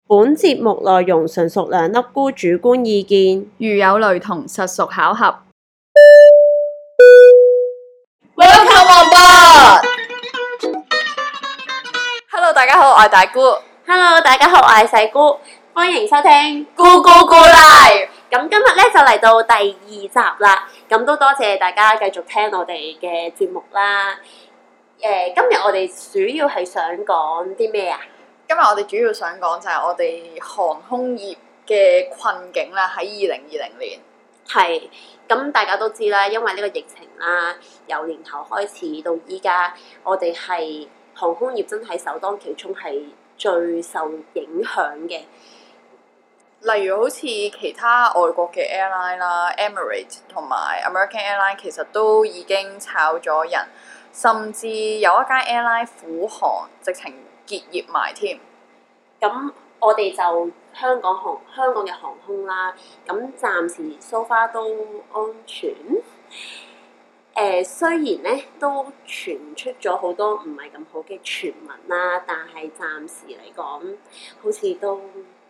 本節目內容純屬兩粒菇主觀意見， 如有雷同，實屬巧合。 Welcome on board! Hello， 大家好，我係大姑。 Hello， 大家好，我係細姑，歡迎收聽咕咕咕 Live。 咁今日咧就嚟到第2集啦，咁都多謝大家繼續聽我哋嘅節目啦。今日我哋主要係想講啲咩啊？ 今日我哋主要想講就係我哋航空業嘅困境啦，喺2020年。 係，咁大家都知啦，因為呢個疫情啦，由年頭開始到依家，我哋係航空業真係首當其衝係最受影響嘅。 例如好似其他外國嘅 airline 啦 ，Emirates 同埋 American Airline 其實都已經炒咗人，甚至有一間 airline 虎航直情結業埋添。 咁我哋就香港嘅航空啦，咁暫時 so far 都安全。雖然咧都傳出咗好多唔係咁好嘅傳聞啦，但係暫時嚟講，好似都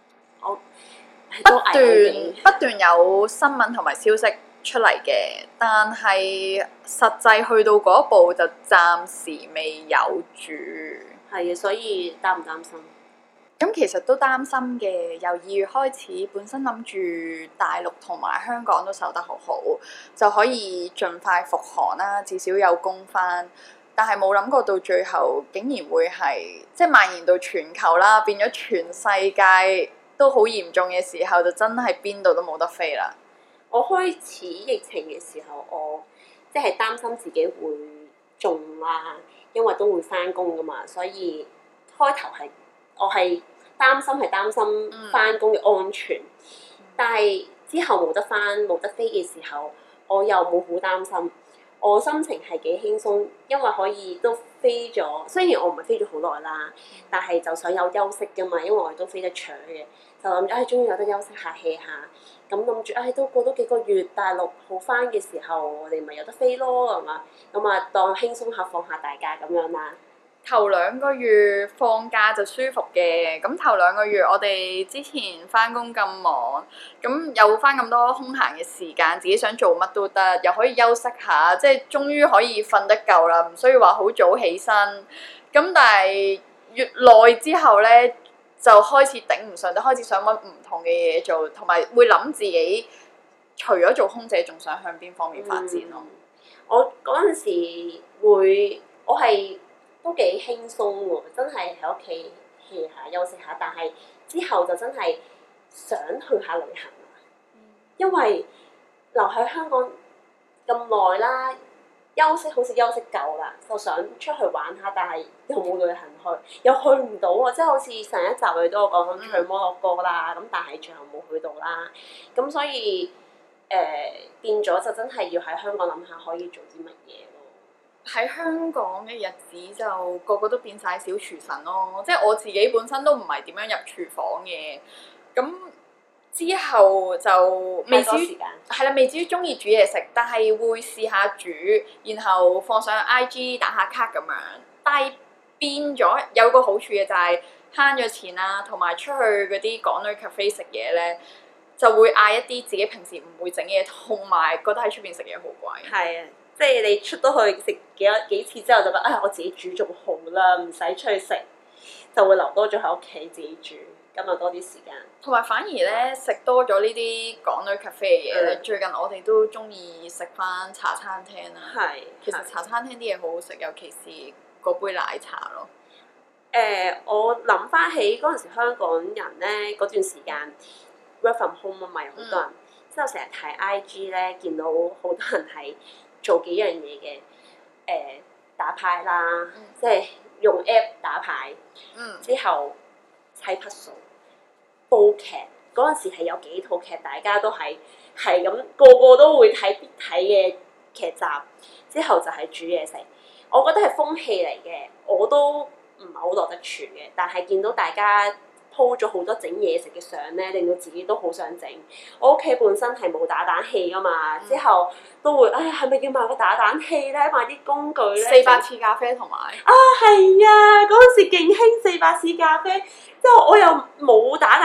不斷有新聞同埋消息出嚟嘅，但係實際去到嗰一步就暫時未有住。 係啊，所以擔唔擔心？ 咁其實都擔心嘅，由2月開始，本身諗住大陸同埋香港都守得好好，就可以盡快復航啦，至少有工返。但係冇諗過到最後，竟然會係即係蔓延到全球啦，變咗全世界都好嚴重嘅時候，就真係邊度都冇得飛啦。 我開始疫情嘅時候，我即係擔心自己會中啦，因為都會返工㗎嘛，所以開頭我係擔心返工嘅安全，但係之後冇得返冇得飛嘅時候，我又冇好擔心，我心情係幾輕鬆，因為可以都飛咗。雖然我唔係飛咗好耐啦，但係就想有休息㗎嘛，因為我哋都飛得長嘅，就諗住終於有得休息下 hea 下，咁諗住都過多幾個月大陸好返嘅時候，我哋咪有得飛咯，係嘛？咁啊當輕鬆下放下大假咁樣啦。 頭2個月放假就舒服嘅，咁頭2個月我哋之前返工咁忙，咁有返咁多空閒嘅時間，自己想做乜都得，又可以休息下，即係終於可以瞓得夠啦，唔需要話好早起身。咁但係越耐之後咧，就開始頂唔順，就開始想揾唔同嘅嘢做，同埋會諗自己除咗做空姐，仲想向邊方面發展咯。 我嗰陣時我係都幾輕鬆喎，真係喺屋企 hea 下休息下，但係之後就真係想去下旅行啦，因為留喺香港咁耐啦，休息好似休息夠啦，就想出去玩下，但係又冇旅行去，又去唔到喎，即係好似上一集你都有講緊去摩洛哥啦，咁但係最後冇去到啦，咁所以變咗就真係要喺香港諗下可以做啲乜嘢。 喺香港嘅日子就個個都變晒小廚神咯，即係我自己本身都唔係點樣入廚房嘅，咁之後就未至於中意煮嘢食，但係會試下煮，然後放上 IG 打下卡咁樣。但係變咗有個好處嘅就係慳咗錢啦，同埋出去嗰啲港女 cafe 食嘢咧，就會嗌一啲自己平時唔會整嘅嘢，同埋覺得喺出邊食嘢好貴。 係啊。即係你出到去食幾次之後就覺得我自己煮仲好啦，唔使出去食，就會留多咗喺屋企自己煮，咁就多啲時間。 同埋反而咧食多咗呢啲港女 cafe 嘅嘢咧，最近我哋都中意食翻茶餐廳啦。係，其實茶餐廳啲嘢好好食，尤其是嗰杯奶茶咯。 我諗翻起嗰陣時香港人咧嗰段時間 work from home 啊嘛，有好多人，之後成日睇 IG 咧，見到好多人係做幾樣嘢嘅，打牌啦，即係用 app 打牌，之後砌 puzzle、煲劇。嗰陣時係有幾套劇，大家都係咁個個都會睇嘅劇集。之後就係煮嘢食，我覺得係風氣嚟嘅，我都唔係好落得廚嘅，但係見到大家po咗好多整嘢食嘅相咧，令到自己都好想整。我屋企本身係冇打蛋器噶嘛，之後都會係咪要買個打蛋器咧？買啲工具咧。 400次咖啡同埋係啊！嗰陣時勁興400次咖啡，之後我又冇打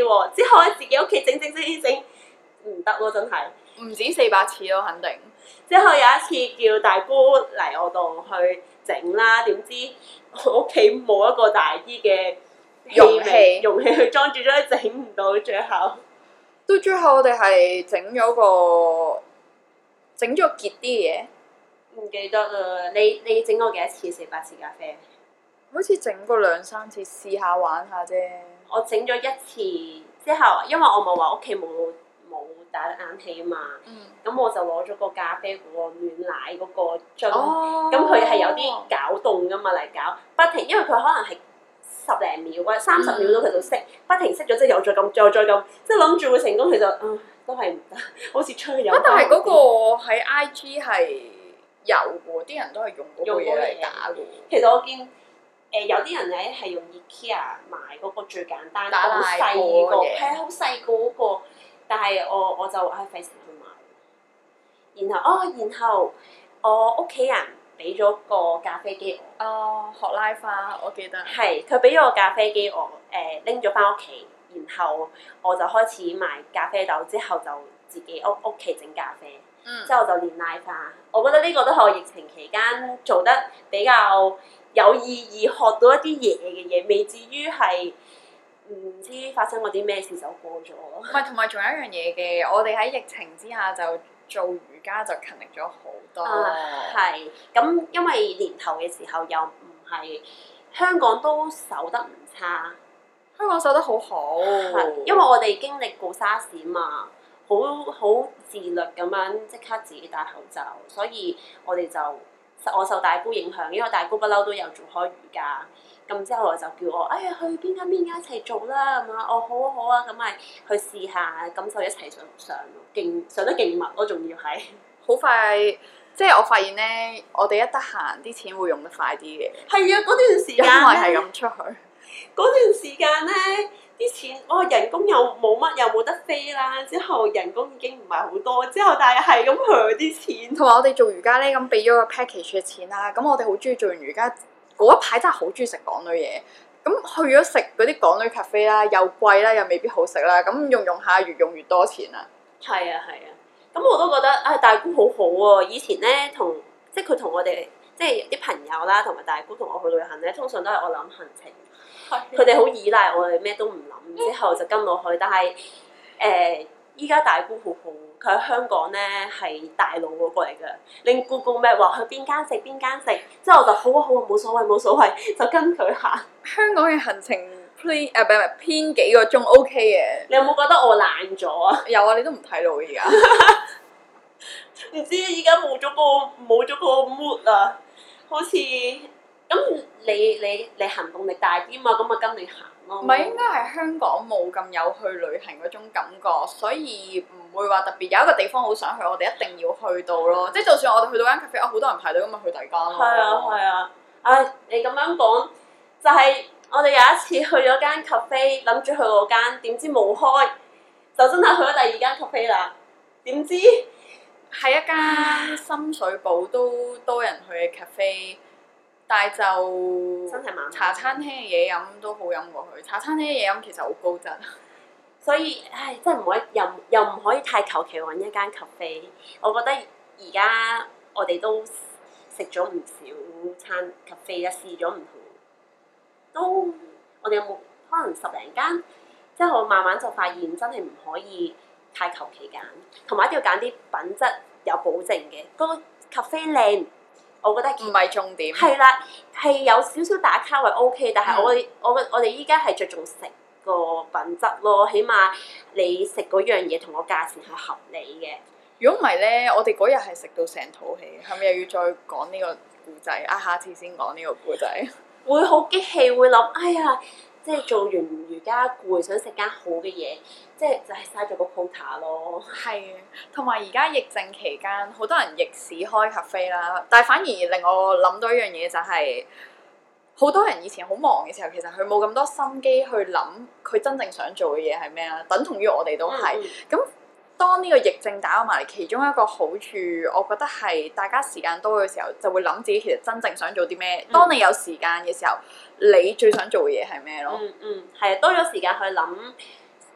喎。之後咧自己屋企整唔得咯，真係。 唔止400次咯，肯定。 之後有一次叫大姑嚟我度去整啦，點知我屋企冇一個大啲嘅容器去裝住，所以整唔到最後。 到最後我哋係整咗結啲嘢， 唔記得啦，你整過幾多次400次咖啡？ 好似整過2-3次試下玩下啫。 我整咗一次之後，因為我冇話屋企冇打冷氣啊嘛，咁我就攞咗個咖啡嗰個暖奶嗰個樽，咁佢係有啲攪動噶嘛嚟搞，不停，因為佢可能係10零秒或者30秒到佢就熄，不停熄咗之後又再撳，再撳，即係諗住會成功，其實都係唔得，好似出去有。 但係嗰個喺 IG 係有喎，啲人都係用嗰個嘢嚟打嘅。 其實我見有啲人咧係用 IKEA 買嗰個最簡單、好細個，係好細個嗰個。但係我就費事去買，然後我屋企人俾咗個咖啡機我。 學拉花，我記得。係， 佢俾咗個咖啡機我，拎咗翻屋企，然後我就開始賣咖啡豆，之後就自己屋企整咖啡，之後就練拉花。我覺得呢個都係我疫情期間做得比較有意義，學到一啲嘢，未至於係。唔知發生過啲咩事就過咗咯。 唔係，同埋仲有一樣嘢嘅，我哋喺疫情之下就做瑜伽就勤力咗好多。 係，咁因為年頭嘅時候又唔係香港都守得唔差， 香港守得好好。 因為我哋經歷過沙士嘛，好自律咁樣即刻自己戴口罩，所以我受大姑影響，因為大姑不嬲都有做開瑜伽。咁之後我就叫我，哎呀去邊間一齊做啦咁啊！好啊好啊，咁咪去試下，咁就一齊上上得勁密咯，仲要係好快，即係我發現咧，我哋一得閒啲錢會用得快啲嘅。 係啊，嗰段時間因為係咁出去。 嗰段時間咧，啲錢人工又冇乜，又冇得飛啦。之後人工已經唔係好多，之後但係咁佢啲錢。 同埋我哋做瑜伽咧，咁俾咗個 package 嘅錢啦。咁我哋好中意做完瑜伽。嗰一排真係好中意食港女嘢，咁去咗食嗰啲港女 cafe 啦，又貴啦，又未必好食啦，咁用下越用越多錢啦。 係啊，咁我都覺得大姑好好喎。以前咧即係佢同我哋即係啲朋友啦，同埋大姑同我去旅行咧，通常都係我諗行程，佢哋好依賴我哋，咩都唔諗，之後就跟我去。但係依家大姑好好，佢喺香港咧係大佬嗰個嚟㗎，令Google Map話去邊間食，之後我就好啊，冇所謂，就跟佢行。 香港嘅行程偏幾個鐘 OK 嘅。 你有冇覺得我懶咗啊？ 有啊，你都唔睇路而家。 唔知依家冇咗個 mood 啊，好似咁你行動力大啲嘛，咁咪跟你行咯。 唔係，應該係香港冇咁有去旅行嗰種感覺，所以唔會話特別有一個地方好想去，我哋一定要去到咯。即係就算我哋去到間 cafe，好多人排隊咁咪去第二間咯。 係啊，你咁樣講就係我哋有一次去咗間 cafe，諗住去嗰間，點知冇開，就真係去咗第二間 cafe 啦。點知係一間深水埗都多人去嘅 cafe。但係就真係麻麻茶餐廳嘅嘢飲都好飲過去，茶餐廳嘅嘢飲其實好高質。 所以真係唔可以又唔可以太求其揾一間 cafe。我覺得而家我哋都食咗唔少餐 cafe 啦，試咗唔同，都我哋有冇可能10零間？之後慢慢就發現真係唔可以太求其揀，同埋一定要揀啲品質有保證嘅。嗰個 cafe 靚。我覺得唔係重點。 係啦，係有少少打卡位 OK， 但係我哋依家係着重食個品質咯，起碼你食嗰樣嘢同個價錢係合理嘅。 如果唔係咧，我哋嗰日係食到成肚氣，係咪又要再講呢個故仔？下次先講呢個故仔。 會好激氣，會諗哎呀，即係做完瑜伽攰，想食間好嘅嘢，即係就係嘥咗個 quota 咯。 係，同埋而家疫症期間，好多人逆市開 cafe 啦，但係反而令我諗到一樣嘢就係、好多人以前好忙嘅時候，其實佢冇咁多心機去諗佢真正想做嘅嘢係咩啦，等同於我哋都係。咁當呢個疫症打埋嚟，其中一個好處，我覺得係大家時間多嘅時候，就會諗自己其實真正想做啲咩。當你有時間嘅時候，你最想做嘅嘢係咩咯？ 係啊，多咗時間去諗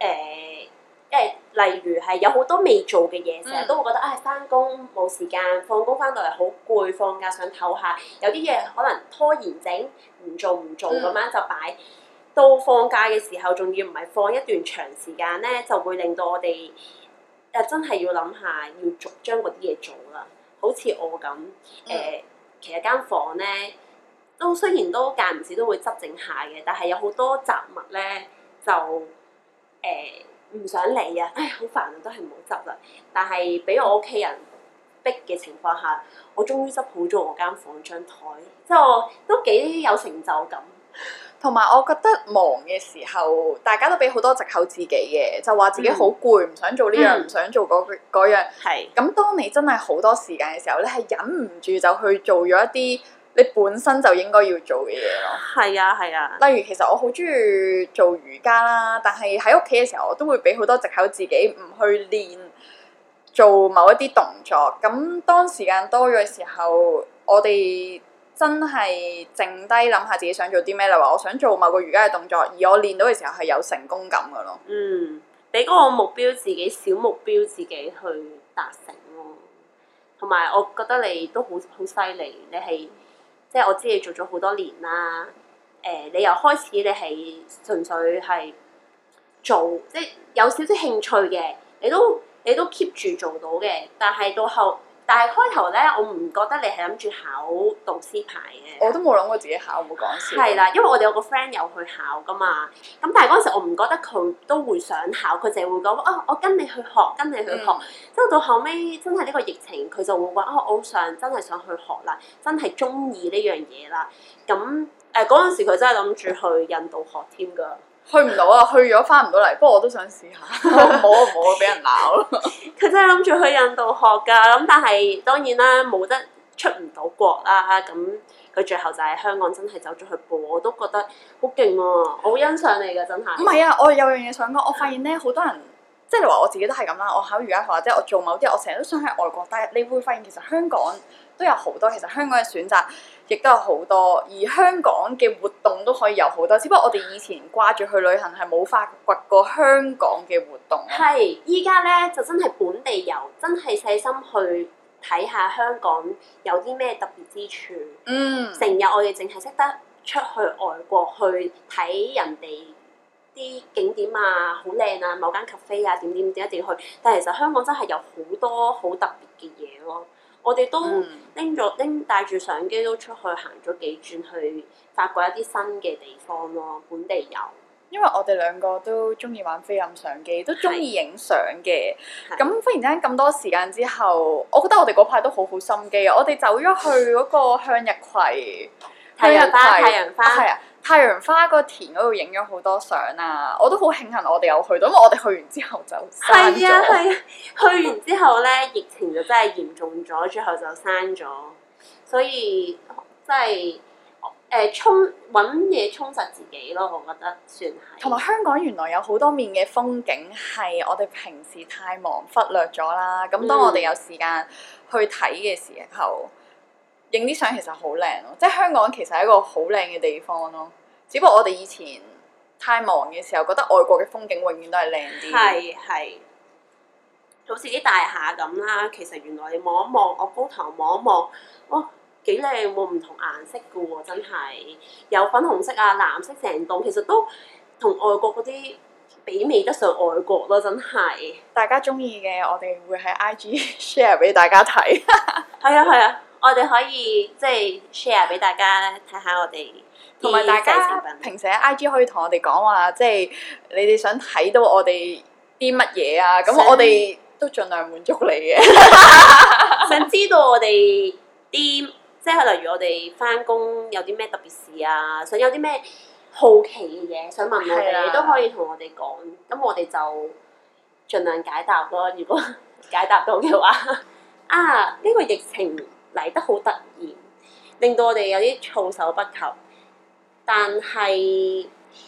例如係有好多未做嘅嘢，成日都會覺得翻工冇時間，放工翻到嚟好攰，放假想唞下，有啲嘢可能拖延整唔做咁樣就擺到放假嘅時候，仲要唔係放一段長時間咧，就會令到我哋真係要諗下要將嗰啲嘢做啦。好似我咁其實間房咧都雖然都間唔時都會執整下嘅，但係有好多雜物咧就唔想理啊！好煩啊，都係唔好執啦。但係俾我屋企人逼嘅情況下，我終於執好咗我間房張台，即係我都幾有成就感。 同埋我覺得忙嘅時候，大家都俾好多藉口自己嘅，就話自己好攰，唔想做呢樣，唔想做嗰樣。 係。 咁當你真係好多時間嘅時候，你係忍唔住就去做咗一啲你本身就應該要做嘅嘢咯。 係啊，係啊。 例如其實我好中意做瑜伽啦，但係喺屋企嘅時候，我都會俾好多藉口自己唔去練做某一啲動作。咁當時間多咗嘅時候，我哋真係靜低諗下自己想做啲咩，例如話我想做某個瑜伽嘅動作，而我練到嘅時候係有成功感㗎咯。 俾嗰個目標自己，小目標自己去達成咯。同埋我覺得你都好犀利，你係即係我知你做咗好多年啦。你由開始你係純粹係做，即係有少少興趣嘅，你都 keep 住做到嘅。但係開頭咧，我唔覺得你係諗住考導師牌嘅。 我都冇諗過自己考，冇講笑。 係啦，因為我哋有個 friend 有去考噶嘛。咁但係嗰陣時我唔覺得佢都會想考，佢淨係會講我跟你去學，跟你去學。之後到後尾真係呢個疫情，佢就會話我真係想去學啦，真係中意呢樣嘢啦。咁嗰陣時佢真係諗住去印度學添㗎。 去唔到啊！去咗翻唔到嚟，不過我都想試下。冇啊，俾人鬧咯。 佢真係諗住去印度學㗎，咁但係當然啦，冇得出唔到國啦。咁佢最後就喺香港真係走咗去報，我都覺得好勁喎，我好欣賞你㗎，真係。 唔係啊，我有樣嘢想講，我發現咧好多人，即係你話我自己都係咁啦。我考瑜伽學或者我做某啲，我成日都想喺外國，但係你會發現其實香港都有好多，其實香港嘅選擇亦都有好多，而香港嘅活動都可以有好多。只不過我哋以前掛住去旅行係冇發掘過香港嘅活動。 係，依家咧就真係本地遊，真係細心去睇下香港有啲咩特別之處。成日我哋淨係識得出去外國去睇人哋啲景點啊，好靚啊，某間 cafe 啊，點一定要去。但係其實香港真係有好多好特別嘅嘢咯。我哋都帶住相機都出去行咗幾轉，去發掘一啲新嘅地方咯，本地遊。 因為我哋兩個都中意玩菲林相機，都中意影相嘅。咁忽然之間咁多時間之後，我覺得我哋嗰排都好好心機啊！我哋走咗去嗰個向日葵太陽花， 係啊！太陽花個田嗰度影咗好多相啊！我都好慶幸我哋有去到，因為我哋去完之後就刪咗。 係啊！去完之後咧，疫情就真係嚴重咗，最後就刪咗。所以真係揾嘢充實自己咯，我覺得算係。 同埋香港原來有好多面嘅風景係我哋平時太忙忽略咗啦。咁當我哋有時間去睇嘅時候，影啲相其實好靚咯，即係香港其實係一個好靚嘅地方咯。只不過我哋以前太忙嘅時候，覺得外國嘅風景永遠都係靚啲。 係，好似啲大廈咁啦。其實原來你望一望，我高頭望一望，哇，幾靚喎！唔同顏色嘅喎，真係有粉紅色啊、藍色成棟，其實都同外國嗰啲媲美得上外國咯，真係。 大家中意嘅，我哋會喺 IG share 俾大家睇。 係啊，我哋可以即係 share 俾大家睇下我哋， 同埋大家平時喺 IG 可以同我哋講話，即係你哋想睇到我哋啲乜嘢啊？咁我哋都盡量滿足你嘅。 想知道我哋啲即係例如我哋返工有啲咩特別事啊，想有啲咩好奇嘅嘢想問我哋，都可以同我哋講。咁我哋就盡量解答咯。如果解答到嘅話，呢個疫情嚟得好突然，令到我哋有啲措手不及。但係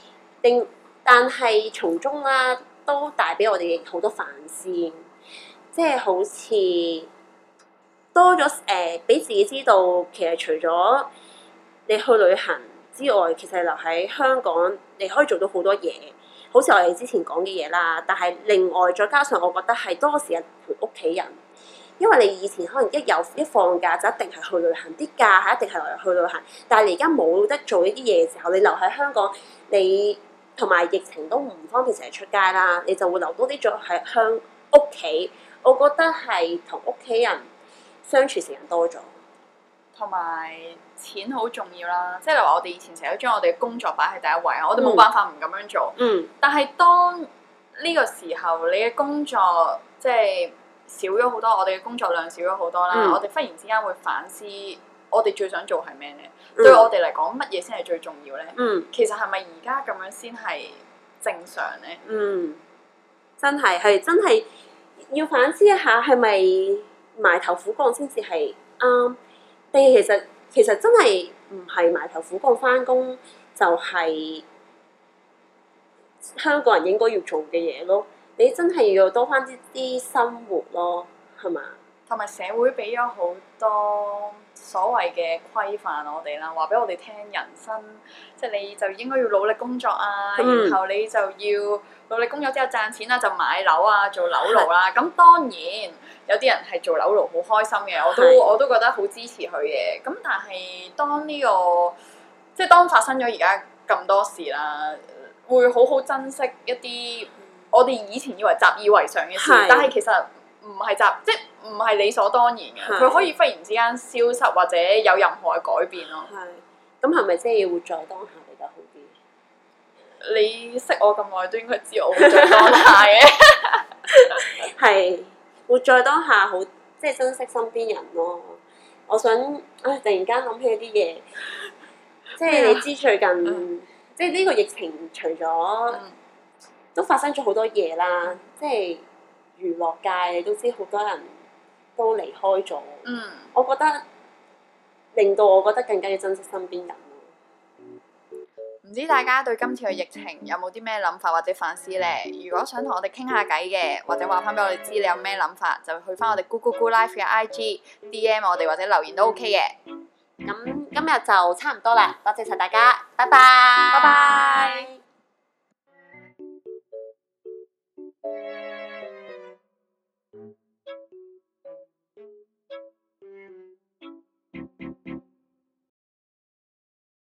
從中啦，都帶俾我哋好多反思，即係好似多咗俾自己知道，其實除咗你去旅行之外，其實留喺香港，你可以做到好多嘢， 好似我哋之前講嘅嘢啦。但係另外再加上，我覺得係多時間陪屋企人，因為你以前可能一放假就一定係去旅行，啲假係一定係去旅行。但係你而家冇得做呢啲嘢嘅時候，你留喺香港，你同埋疫情都唔方便成日出街啦，你就會留多啲咗喺屋企。我覺得係同屋企人相處時間多咗。 同埋錢好重要啦，即係例如話我哋以前成日都將我哋嘅工作擺喺第一位啊，我哋冇辦法唔咁樣做。但係當呢個時候，你嘅工作即係少咗好多，我哋嘅工作量少咗好多啦。我哋忽然之間會反思，我哋最想做係咩咧？對我哋嚟講，乜嘢先係最重要咧？其實係咪而家咁樣先係正常咧？ 真係要反思一下，係咪埋頭苦幹先至係啱？定其實真係唔係埋頭苦幹返工就係香港人應該要做嘅嘢咯。你真係要多返啲生活咯，係嘛？ 同埋社會俾咗好多所謂嘅規範我哋啦，話俾我哋聽人生，即係你就應該要努力工作啊，然後你就要努力工作之後賺錢啦，就買樓啊，做樓奴啦。咁當然有啲人係做樓奴好開心嘅，我都覺得好支持佢嘅。咁但係當即係當發生咗而家咁多事啦，會好好珍惜一啲我哋以前以為習以為常嘅事，但係其實唔係即係唔係理所當然嘅，佢可以忽然之間消失或者有任何嘅改變咯。 咁係咪即係要活在當下比較好啲？ 你識我咁耐都應該知我活在當下嘅。 係活在當下好，即係珍惜身邊人咯。我想突然間諗起啲嘢，即係你知最近即係呢個疫情除咗都發生咗好多嘢啦，即係娛樂界你都知好多人都離開咗。我覺得令到我覺得更加要珍惜身邊人咯。 唔知大家對今次嘅疫情有冇啲咩諗法或者反思呢？如果想同我哋傾下偈嘅，或者話翻俾我哋知你有咩諗法，就去翻我哋 Google Live 嘅 IG DM 我哋或者留言都 OK 嘅。 咁今日就差唔多啦，多謝晒大家，拜拜。 拜拜。